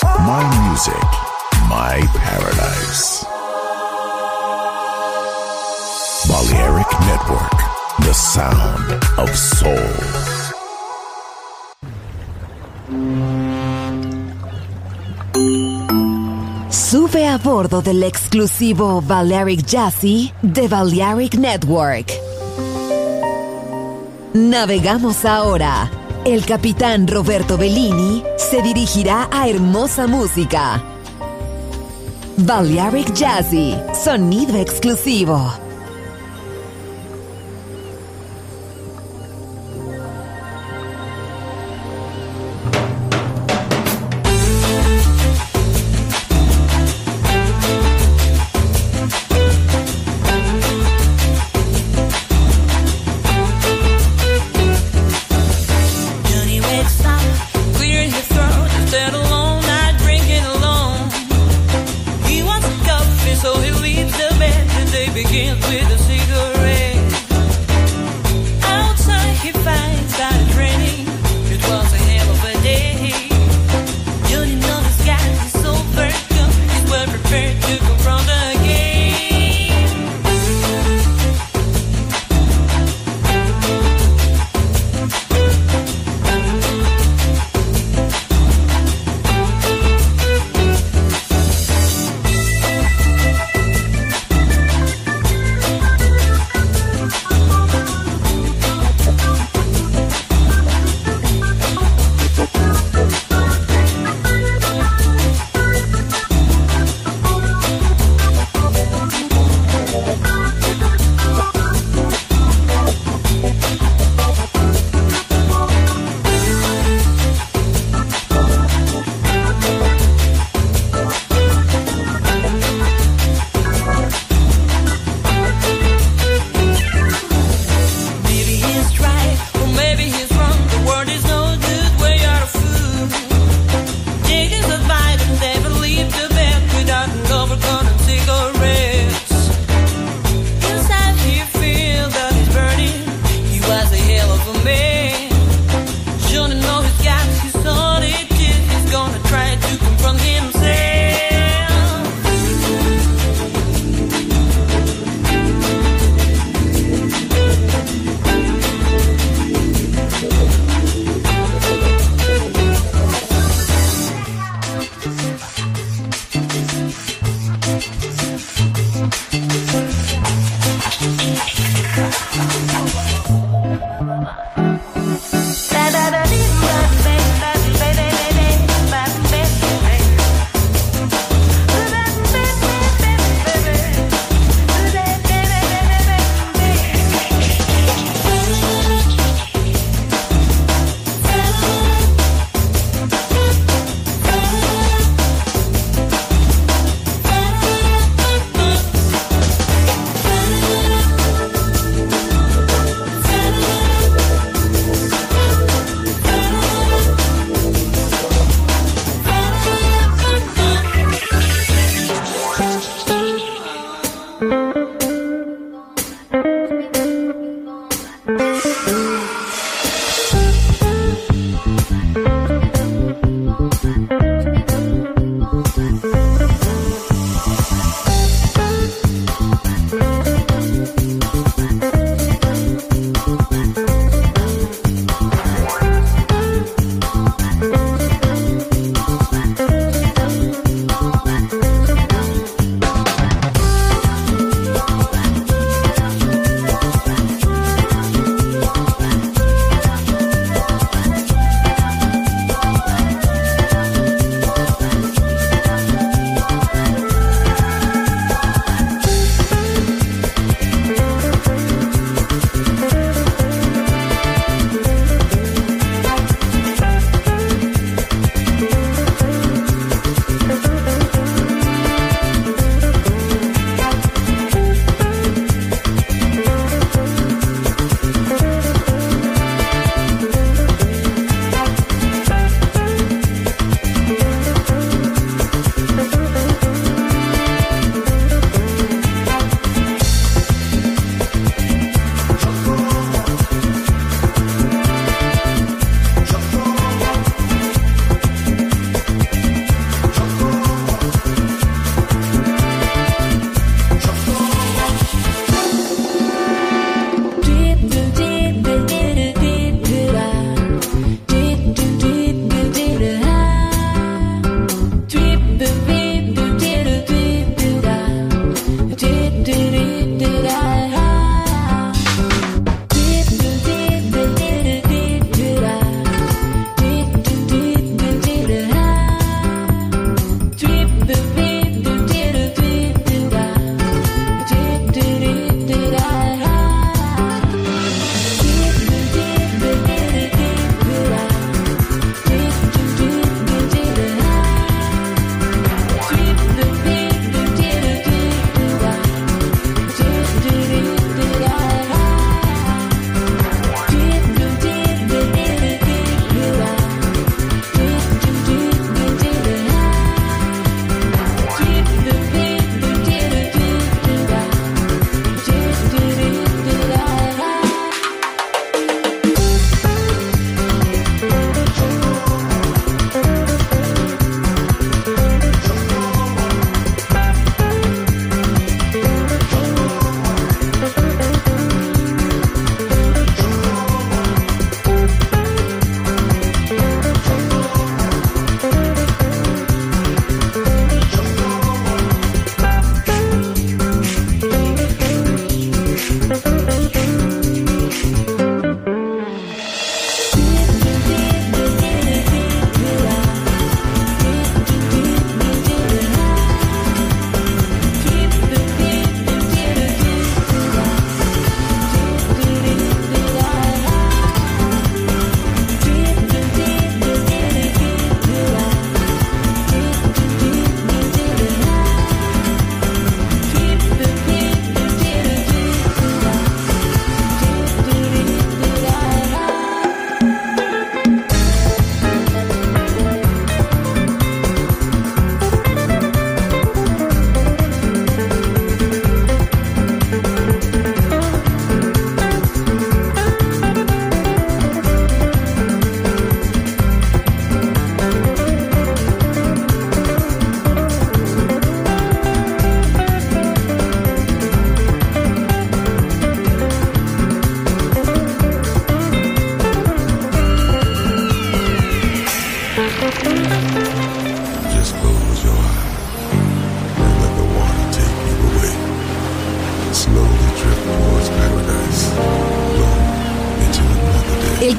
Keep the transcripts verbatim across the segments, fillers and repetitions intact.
My music, my paradise. Balearic Network, the sound of soul. Sube a bordo del exclusivo Balearic Jazzy de Balearic Network. Navegamos ahora. El capitán Roberto Bellini se dirigirá a hermosa música. Balearic Jazzy, sonido exclusivo. Begin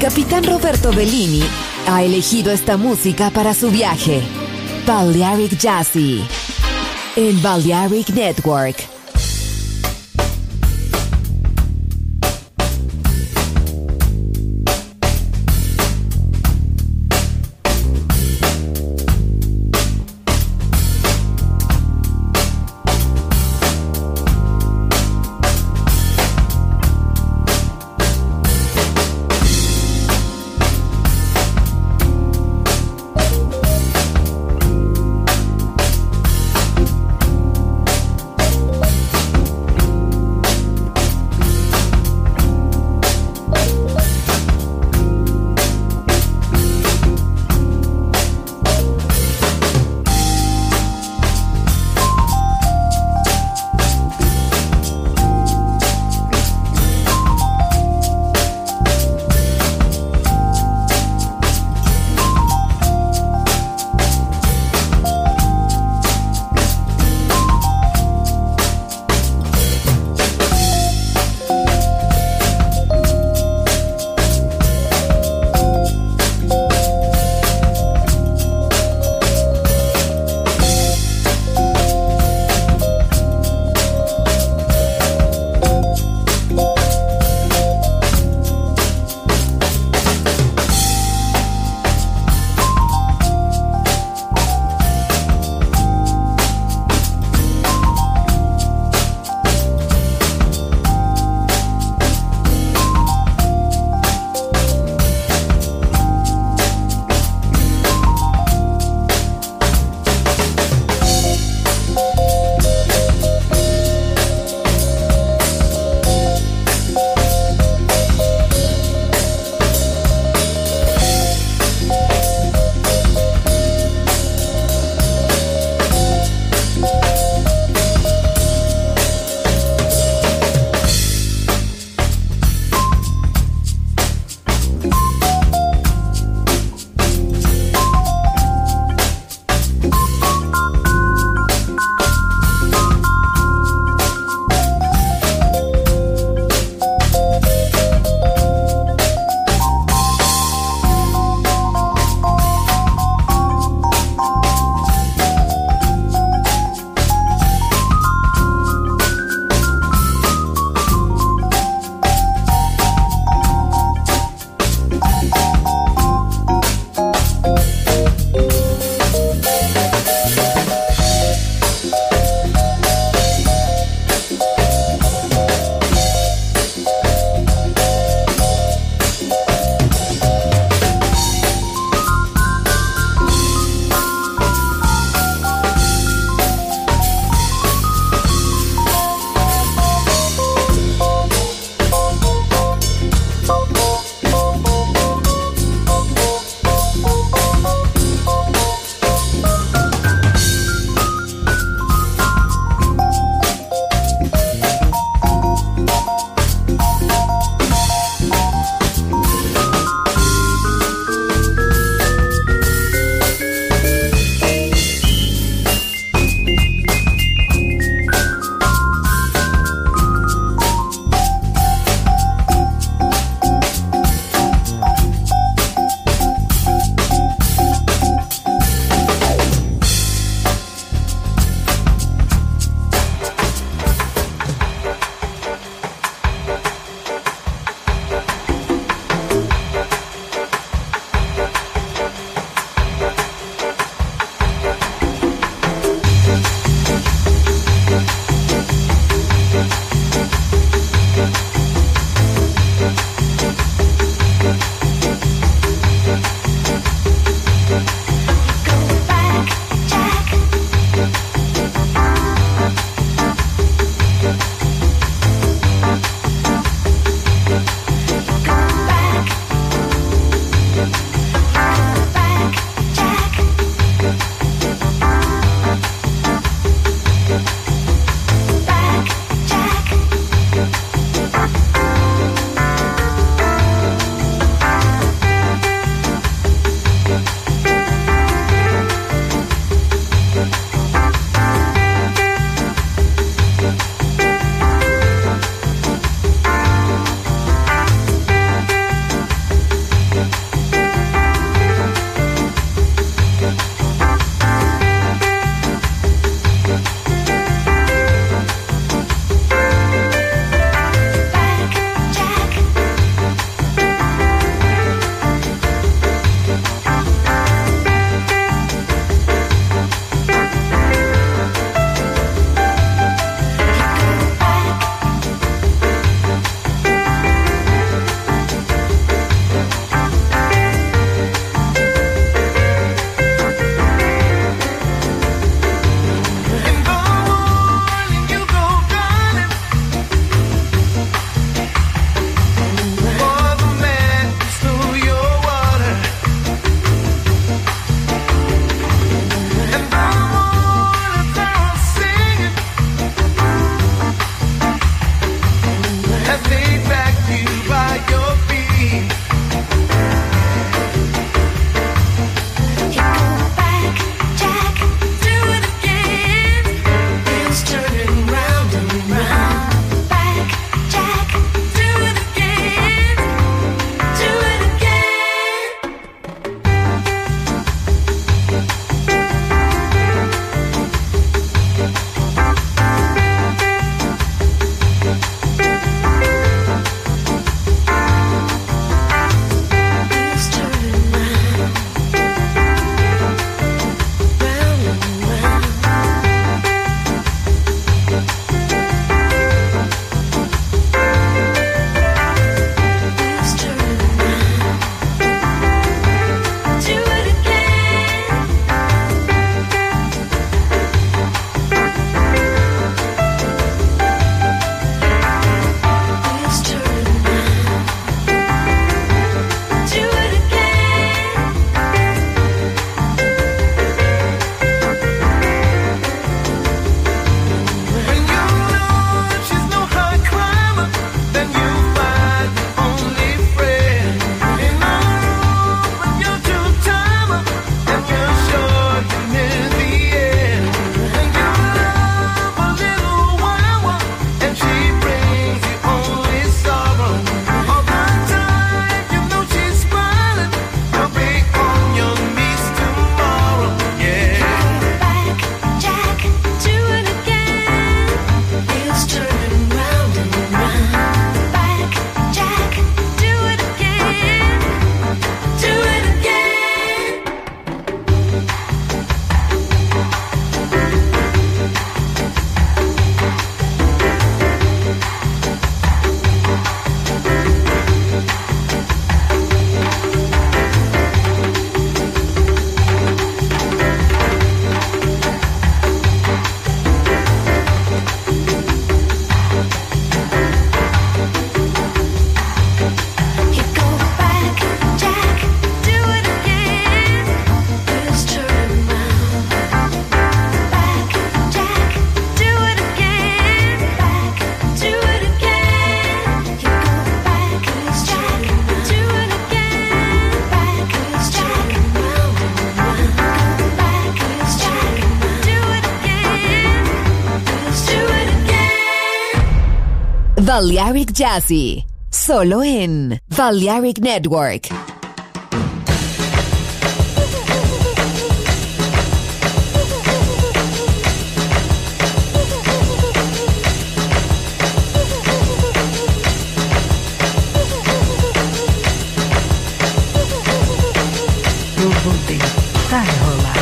capitán Roberto Bellini ha elegido esta música para su viaje. Balearic Jazzy en Balearic Network. Balearic Jazzy, solo en Balearic Network. Eu vou deitar e rolar.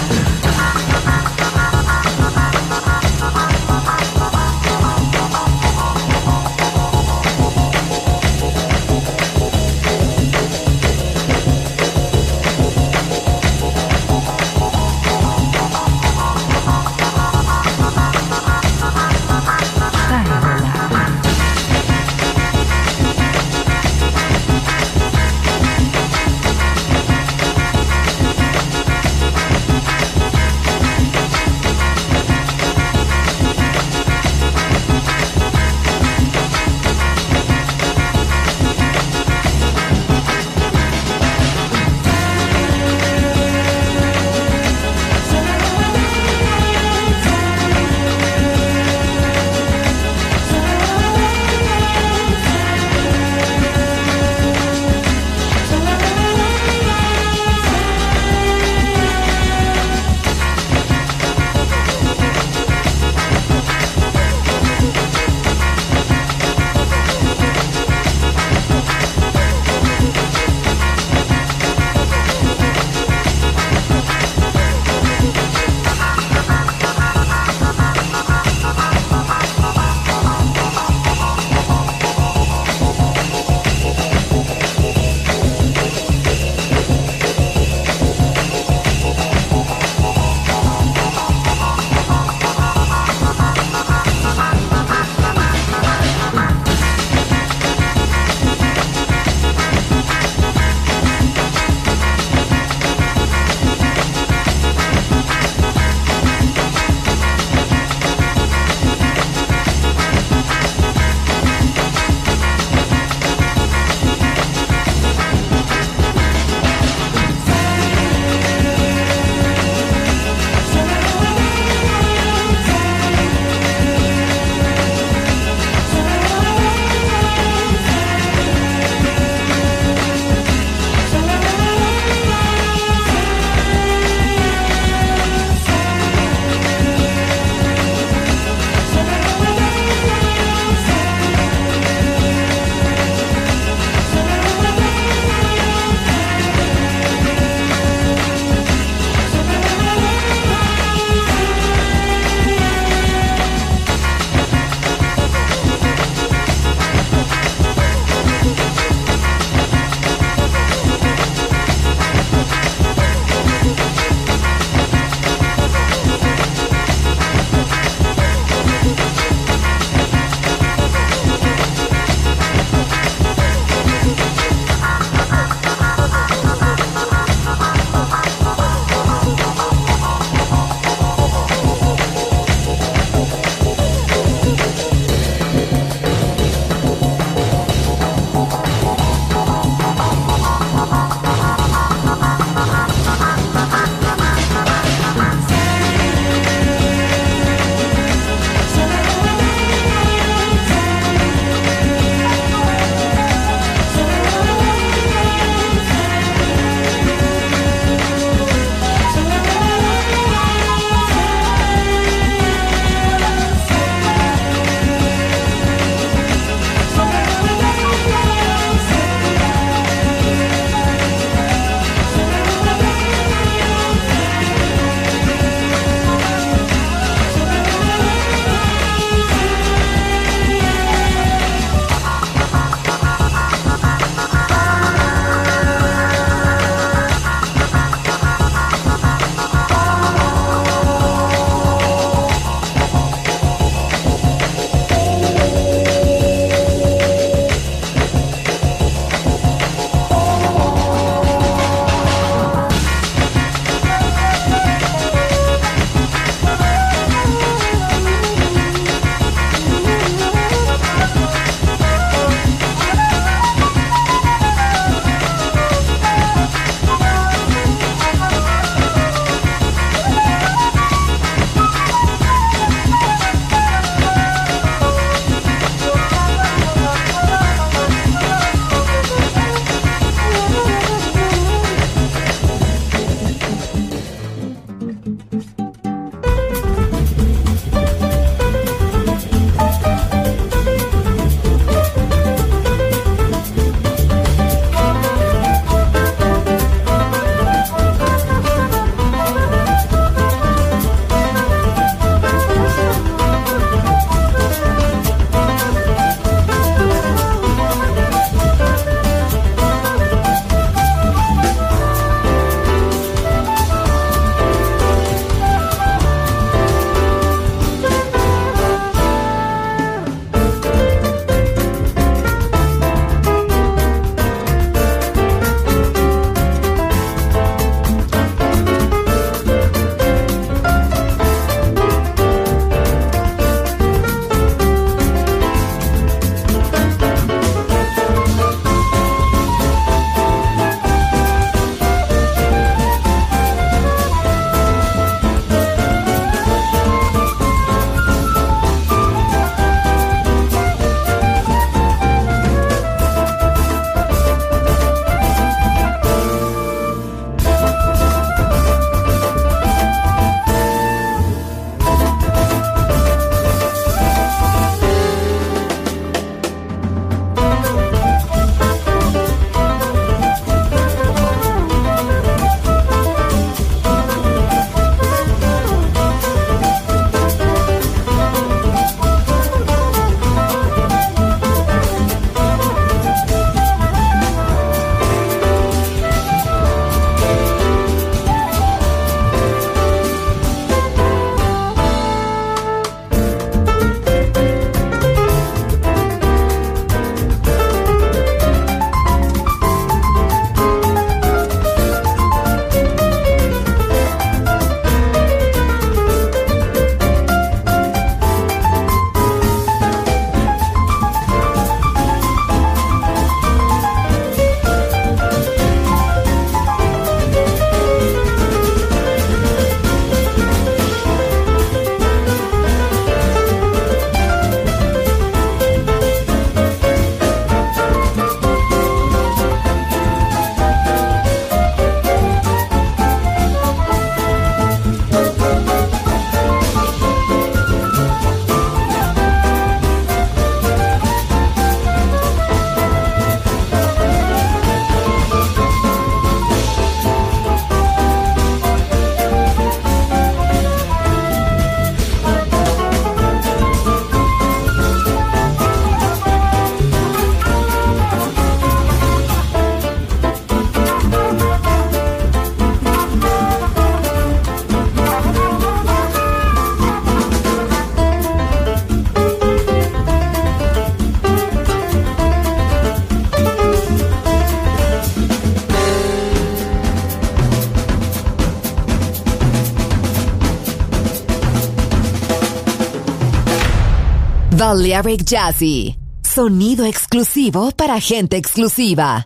Balearic Jazzy. Sonido exclusivo para gente exclusiva.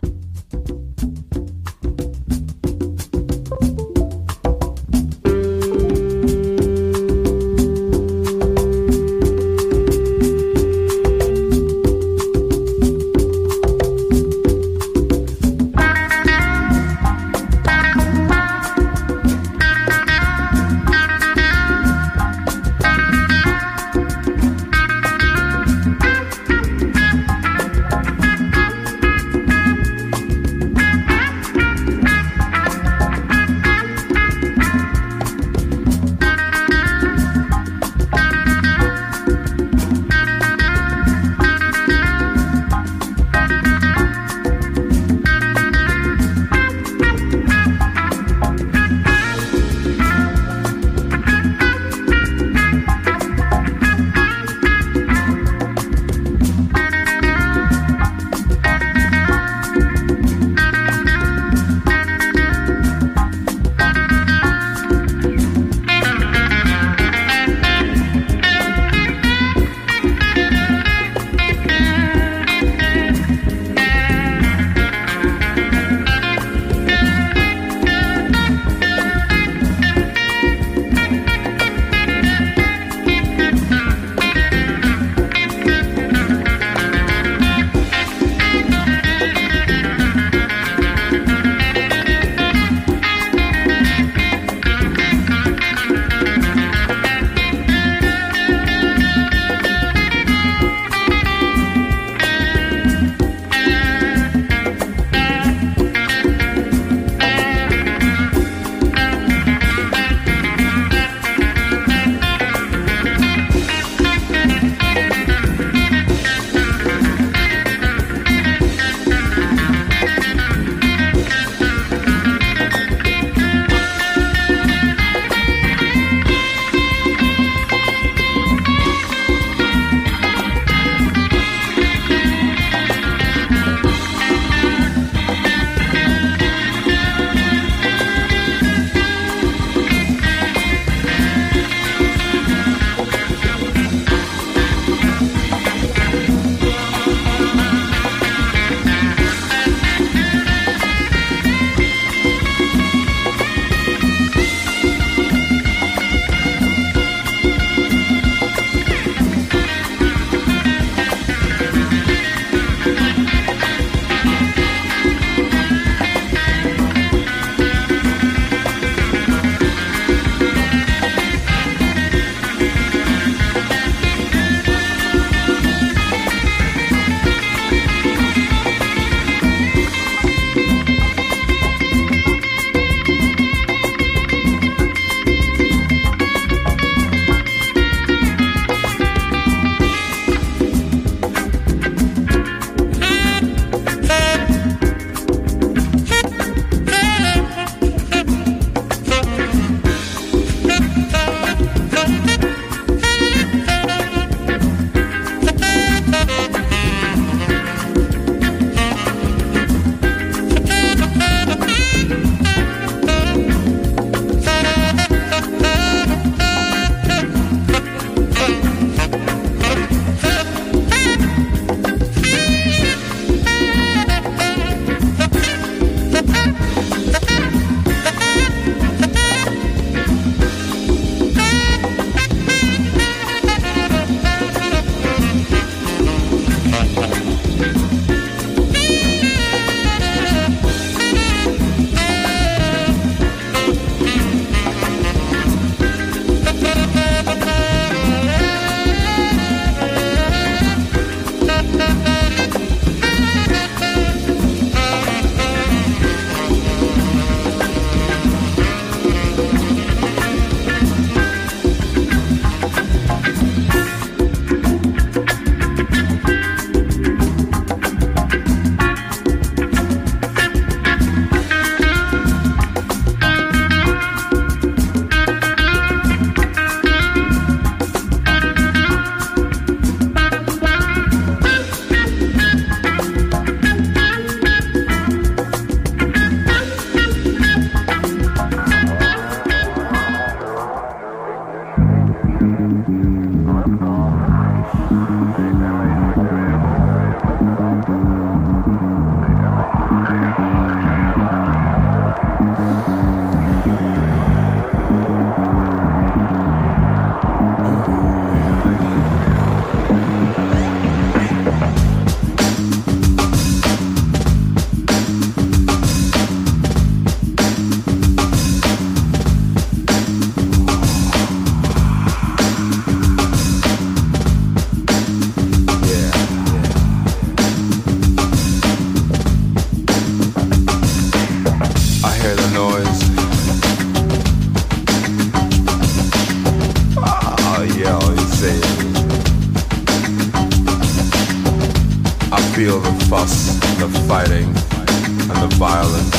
feel the fuss, the fighting, and the violence.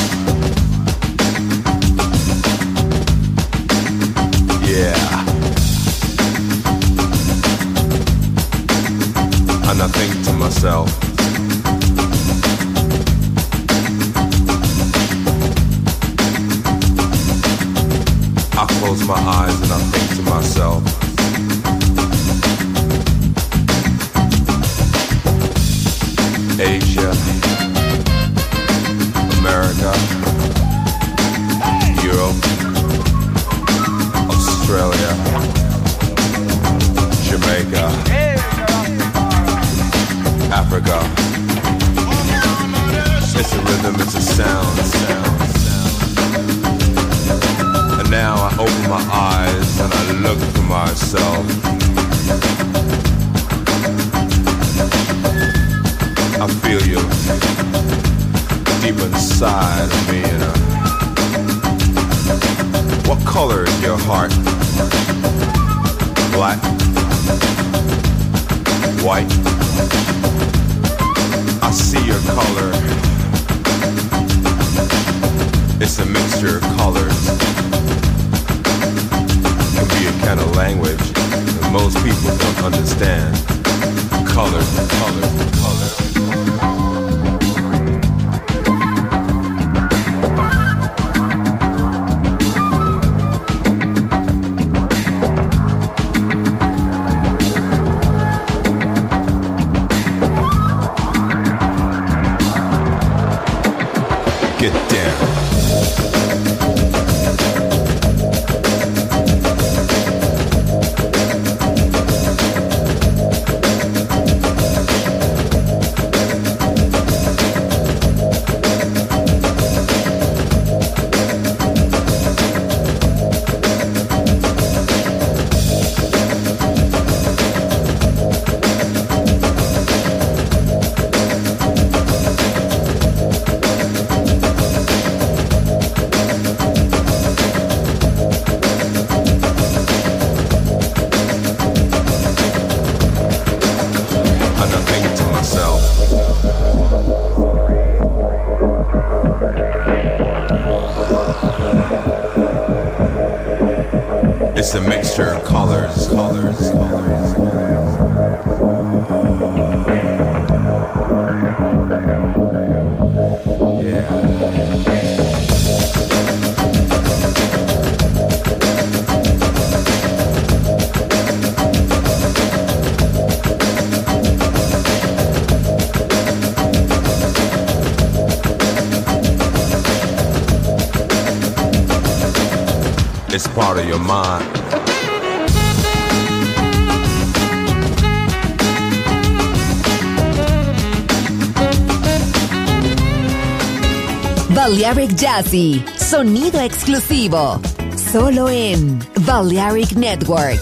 Yeah. And I think to myself, I close my eyes and I think to myself, Asia, America, Europe, Australia, Jamaica, Africa. It's a rhythm, it's a sound, sound, sound. And now I open my eyes and I look for myself. I feel you deep inside of me, you know. What color is your heart? Black? White? I see your color. It's a mixture of colors. It can be a kind of language that most people don't understand. Colors, colors, colors. Get down. It's a mixture of colors, colors, colors. Yeah. It's part of your mind. Balearic Jazzy, sonido exclusivo, solo en Balearic Network.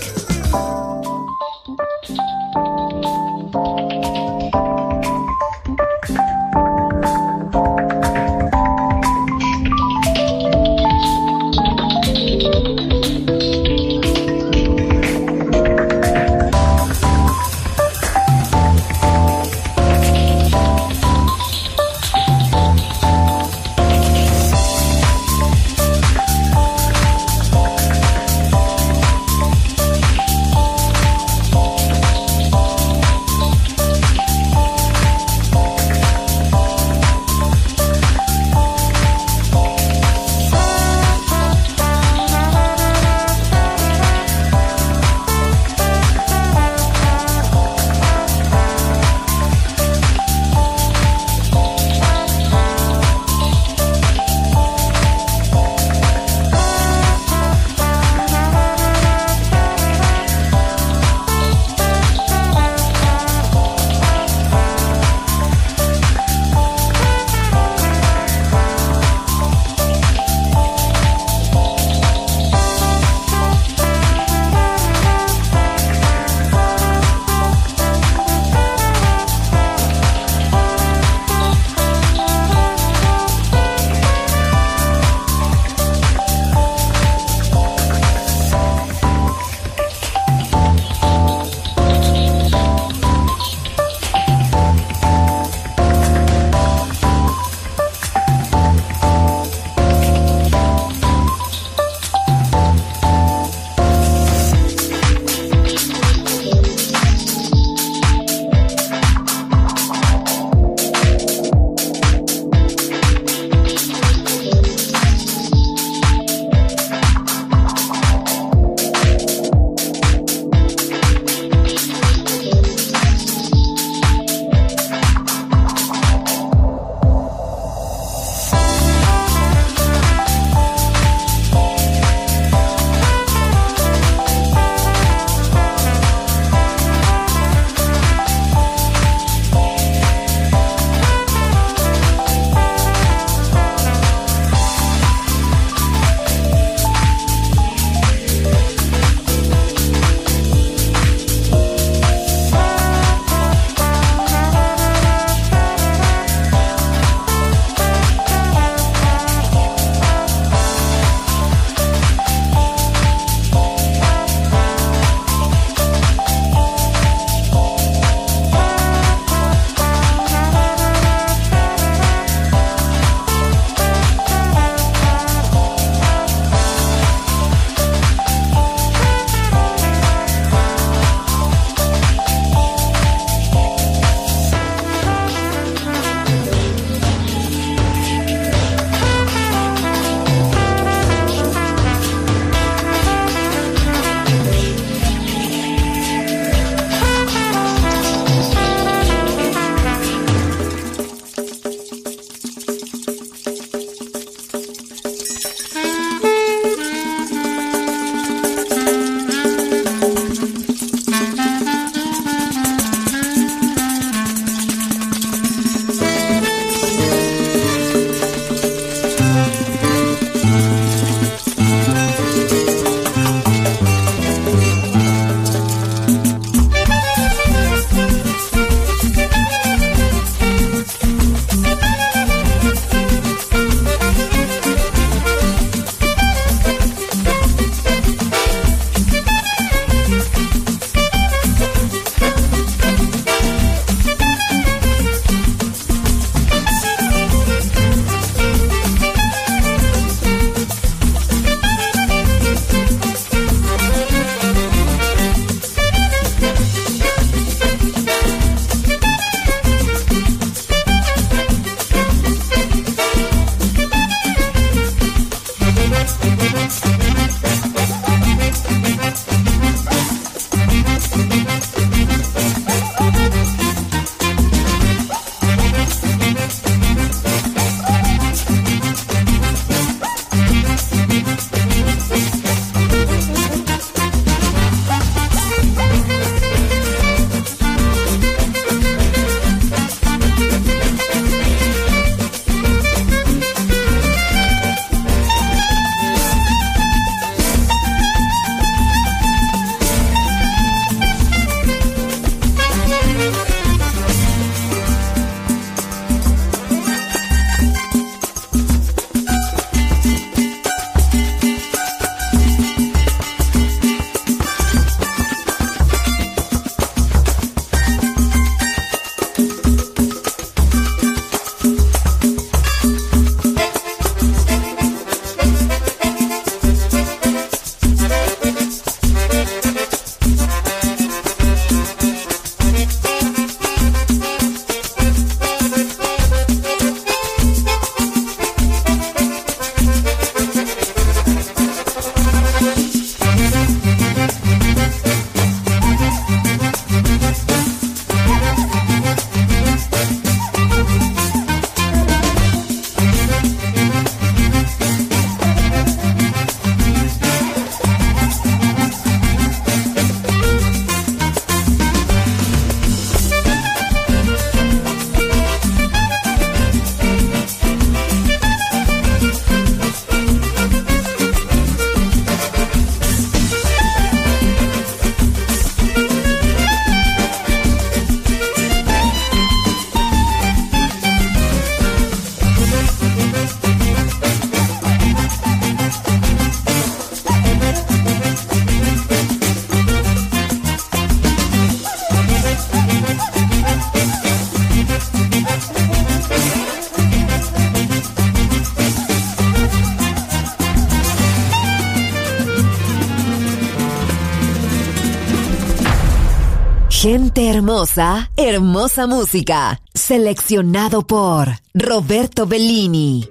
Gente hermosa, hermosa música. Seleccionado por Roberto Bellini.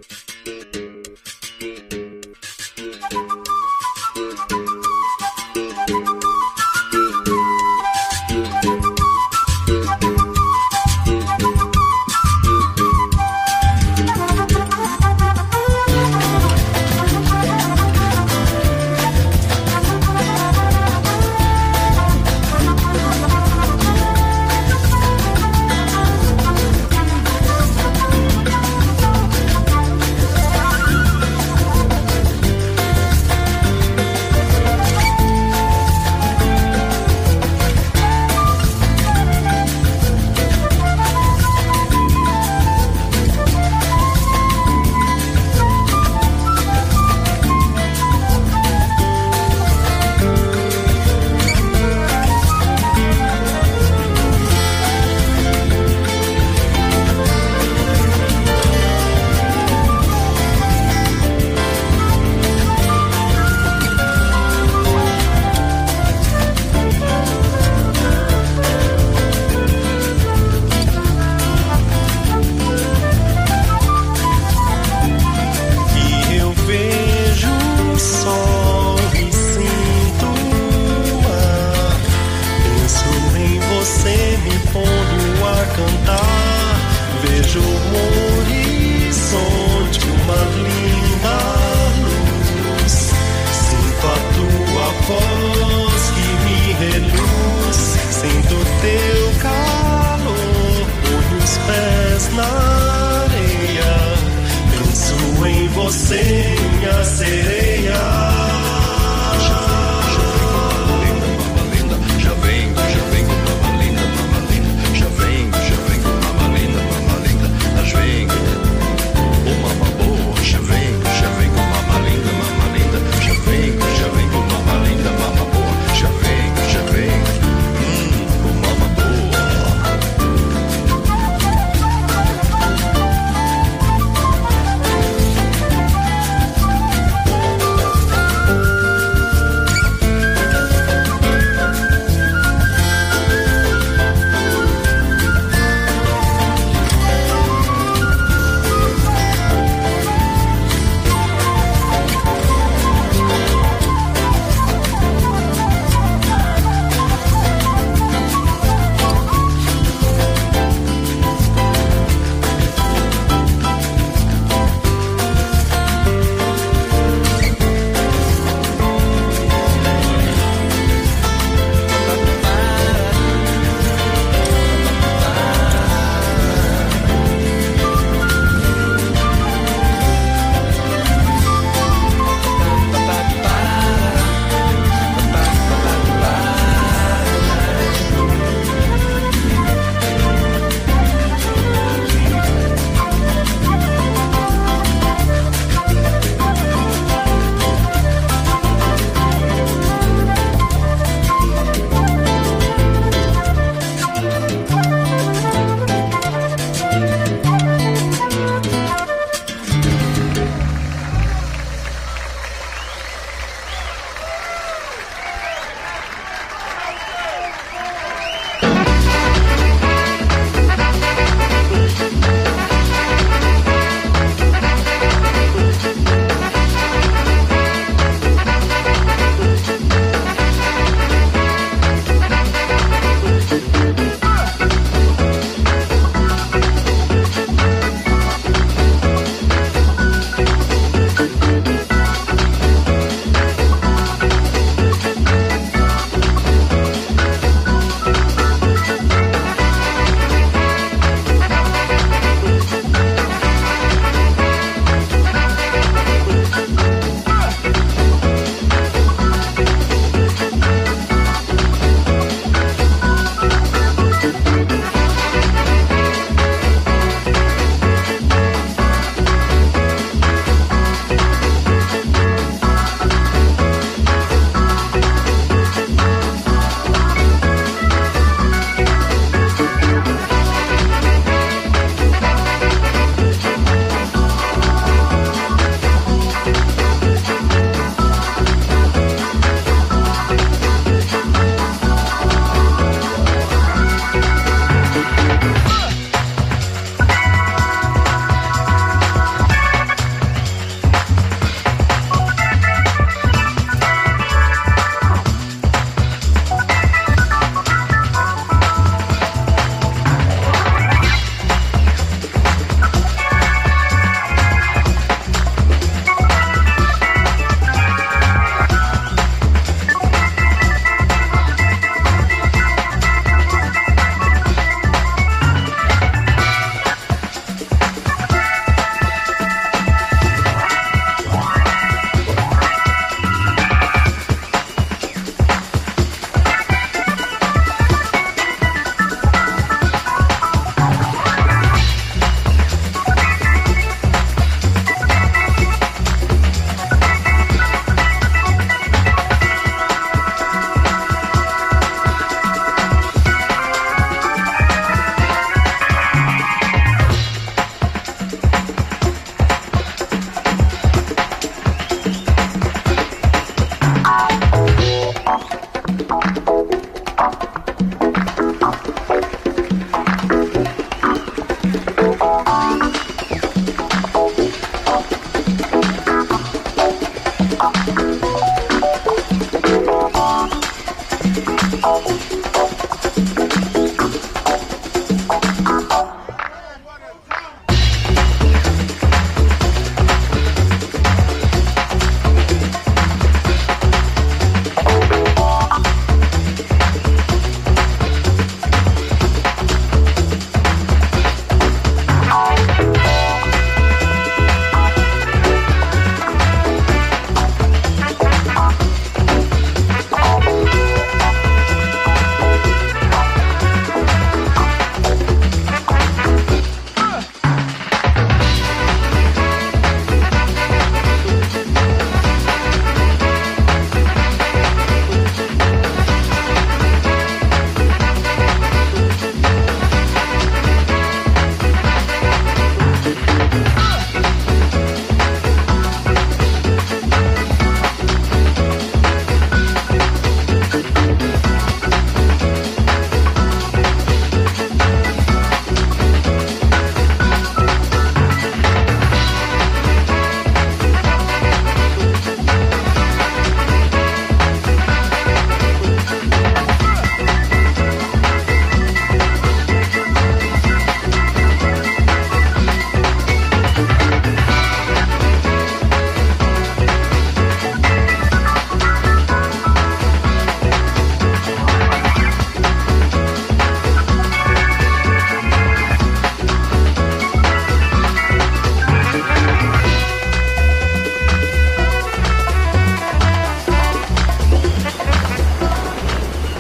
As vem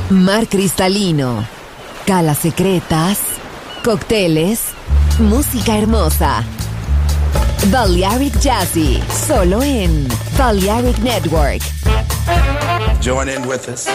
mar cristalino, calas secretas, cócteles, música hermosa. Balearic Jazzy, solo en Balearic Network. Join in with us.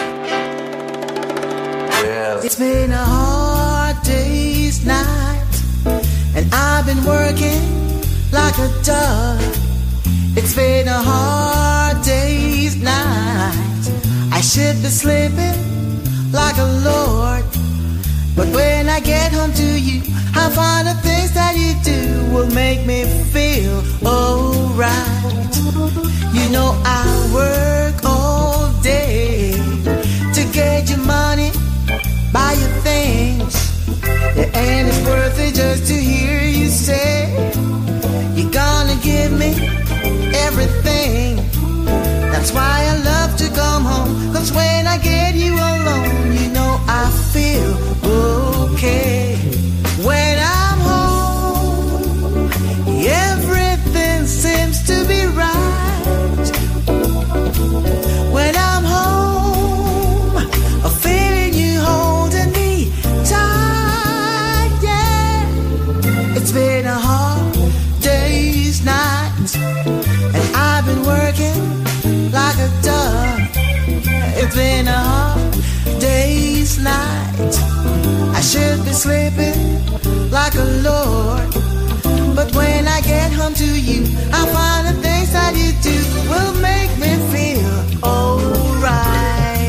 Well, it's been a hard day's night, and I've been working like a dog. It's been a hard day's night. I should be sleeping like a lord, but when I get home to you, I find the things that you do will make me feel alright. You know I work all day to get your money, buy your things, and it's worth it just to hear you say you're gonna give me everything. That's why I love to come home, 'cause when I get you alone, you know I feel okay. When I'm home, everything seems to be right. When I'm home, I'm feeling you holding me tight, yeah. It's been a hard day's night, and I've been working like a dog. It's been a hard day's night. I should be sleeping like a lord, but when I get home to you, I find the things that you do will make me feel alright.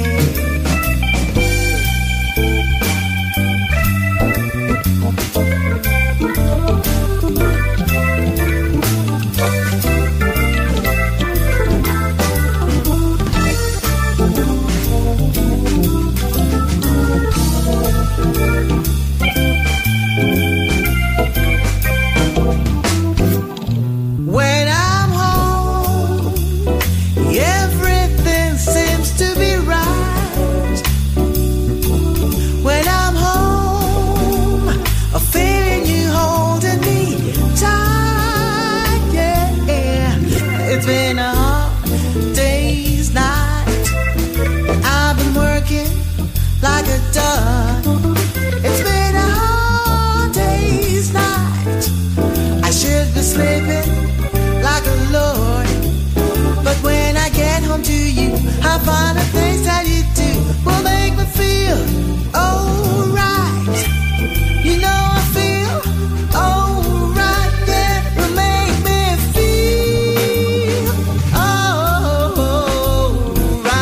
It's been a hard day's night. I've been working like a dog. It's been a hard day's night. I should be sleeping like a lord, but when I get home to you, I find the things that you do will make me feel alright. You know I feel alright, yeah, will make me feel alright.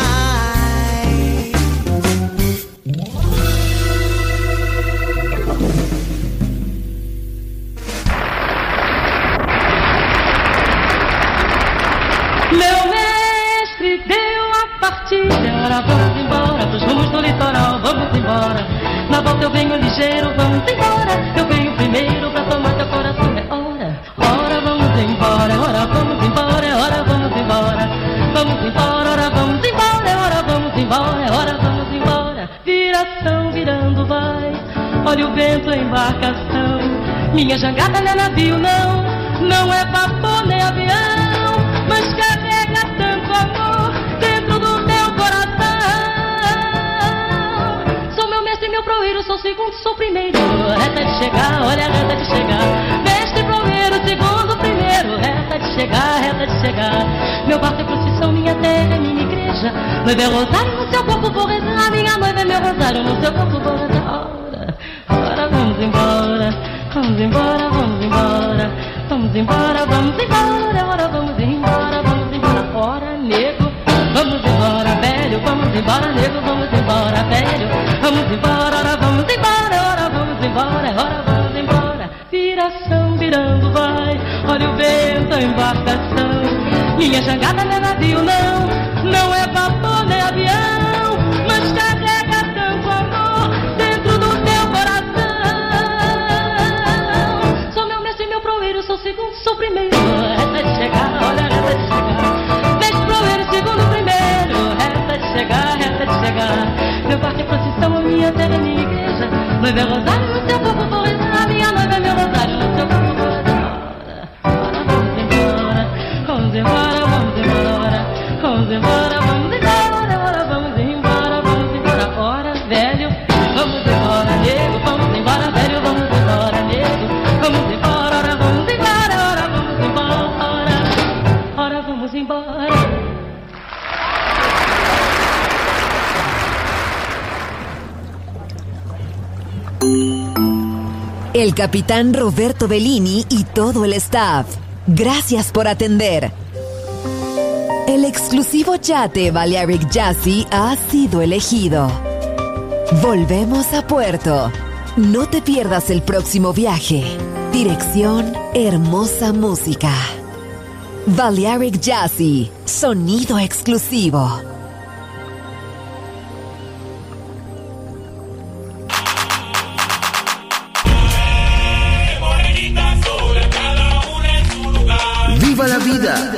Meu mestre deu a partida, ora vamos embora pros rumos do litoral, vamos embora. Na volta eu venho ligeiro, vamos embora. Eu venho primeiro pra tomar teu coração, é hora. Ora vamos embora, ora vamos embora, ora vamos embora. Vamos embora, ora vamos embora, ora vamos embora, ora vamos embora. Viração virando vai, olha o vento, a embarcação. Minha jangada não é navio não, não é vapor nem avião, mas carrega tanto amor dentro do teu coração. Sou meu mestre, meu proeiro, sou segundo, sou primeiro. Reta de chegar, olha a reta de chegar. Mestre, proeiro, segundo, primeiro. Reta de chegar, reta de chegar. Meu barco é procissão, minha terra é minha igreja. Noiva é rosário, no seu corpo vou rezar. Minha noiva é meu rosário, no seu corpo vou rezar. Ora, ora vamos embora. Vamos embora, vamos embora. Vamos embora, vamos embora. Ora vamos embora, vamos embora. Ora, nego, vamos embora, velho. Vamos embora, nego, vamos embora, velho. Vamos embora, ora vamos embora. Ora vamos embora, ora vamos embora. Viração virando vai, olha o vento, a embarcação. Minha jangada não é navio não, não é vapor nem avião, mas carrega tanto amor dentro do teu coração. Sou meu mestre, meu proeiro, sou segundo, sou primeiro. Reta de chegar, olha a reta de chegar. Mestre, proeiro, segundo, primeiro. Reta de chegar, reta de chegar. Meu barco é procissão, a minha terra é minha igreja. Noiva é rosário, no seu corpo vou rezar. Minha noiva é meu rosário, no seu corpo vou rezar. Ora, vamos embora, vamos embora, vamos embora. Vamos embora, vamos embora, ora vamos embora, vamos embora. Ora, el capitán Roberto Bellini y todo el staff. Gracias por atender. El exclusivo yate Balearic Jazzy ha sido elegido. Volvemos a puerto. No te pierdas el próximo viaje. Dirección Hermosa Música. Balearic Jazzy, sonido exclusivo. ¡Viva la vida!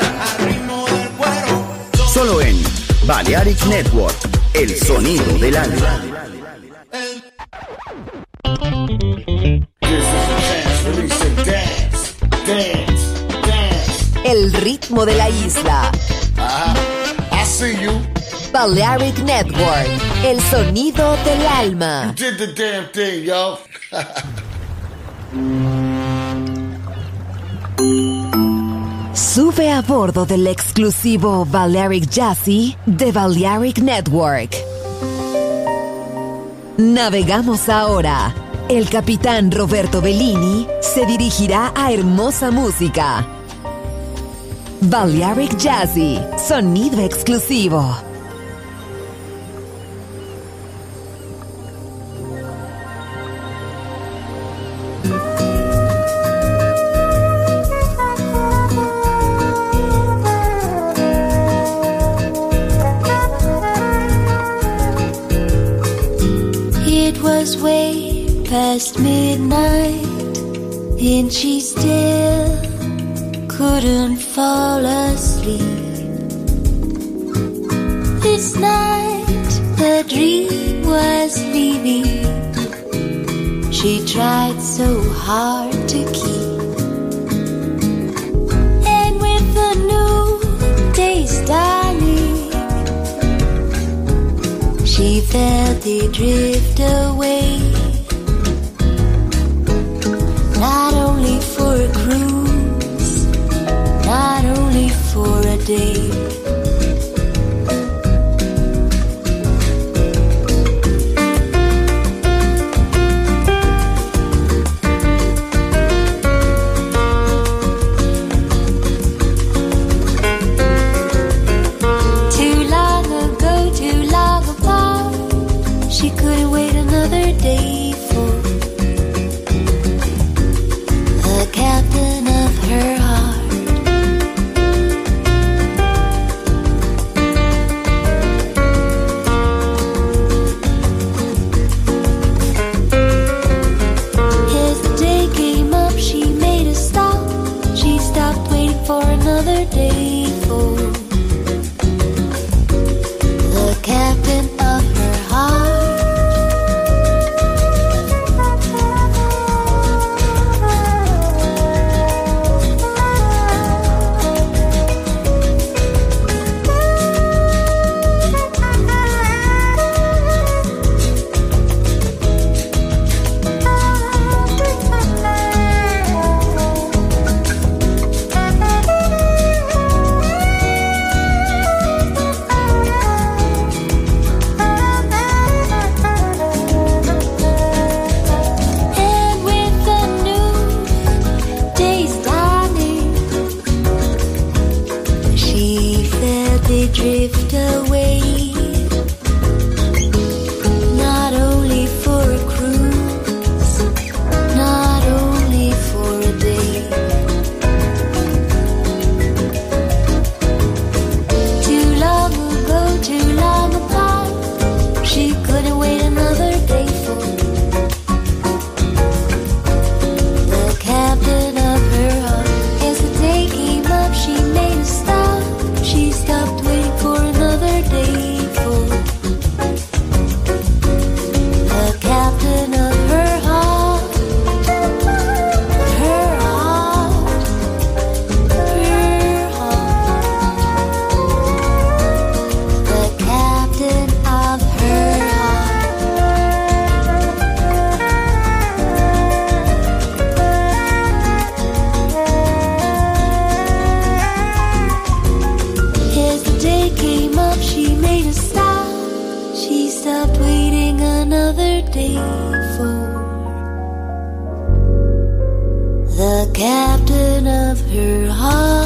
Solo en Balearic Network, el sonido del alma. El ritmo de la isla. Uh-huh. I see you. Balearic Network, el sonido del alma. You did the damn thing, yo. Sube a bordo del exclusivo Balearic Jazzy de Balearic Network. Navegamos ahora. El capitán Roberto Bellini se dirigirá a Hermosa Música. Balearic Jazzy, sonido exclusivo. It was way past midnight and she still couldn't fall asleep. This night the dream was leaving. She tried so hard to keep. And with the new day's dawning, she felt it drift away. Not only for a cruise, not only for a day. Too long ago, too long apart, she couldn't wait another day for the captain of her heart. As the day came up, she made a stop. She stopped waiting for another day for the captain of her heart. And with the new day's dawning, she felt it drift away. Not only for a cruise, not only for a day. Too long ago, too long apart, she couldn't wait another day for the captain of her heart. As the day came up, she made a stop. She stopped waiting for another day for the captain of her heart. Her heart, her heart. The captain of her heart. As the day came up, she made a stop. She stopped waiting another day for the captain of her heart.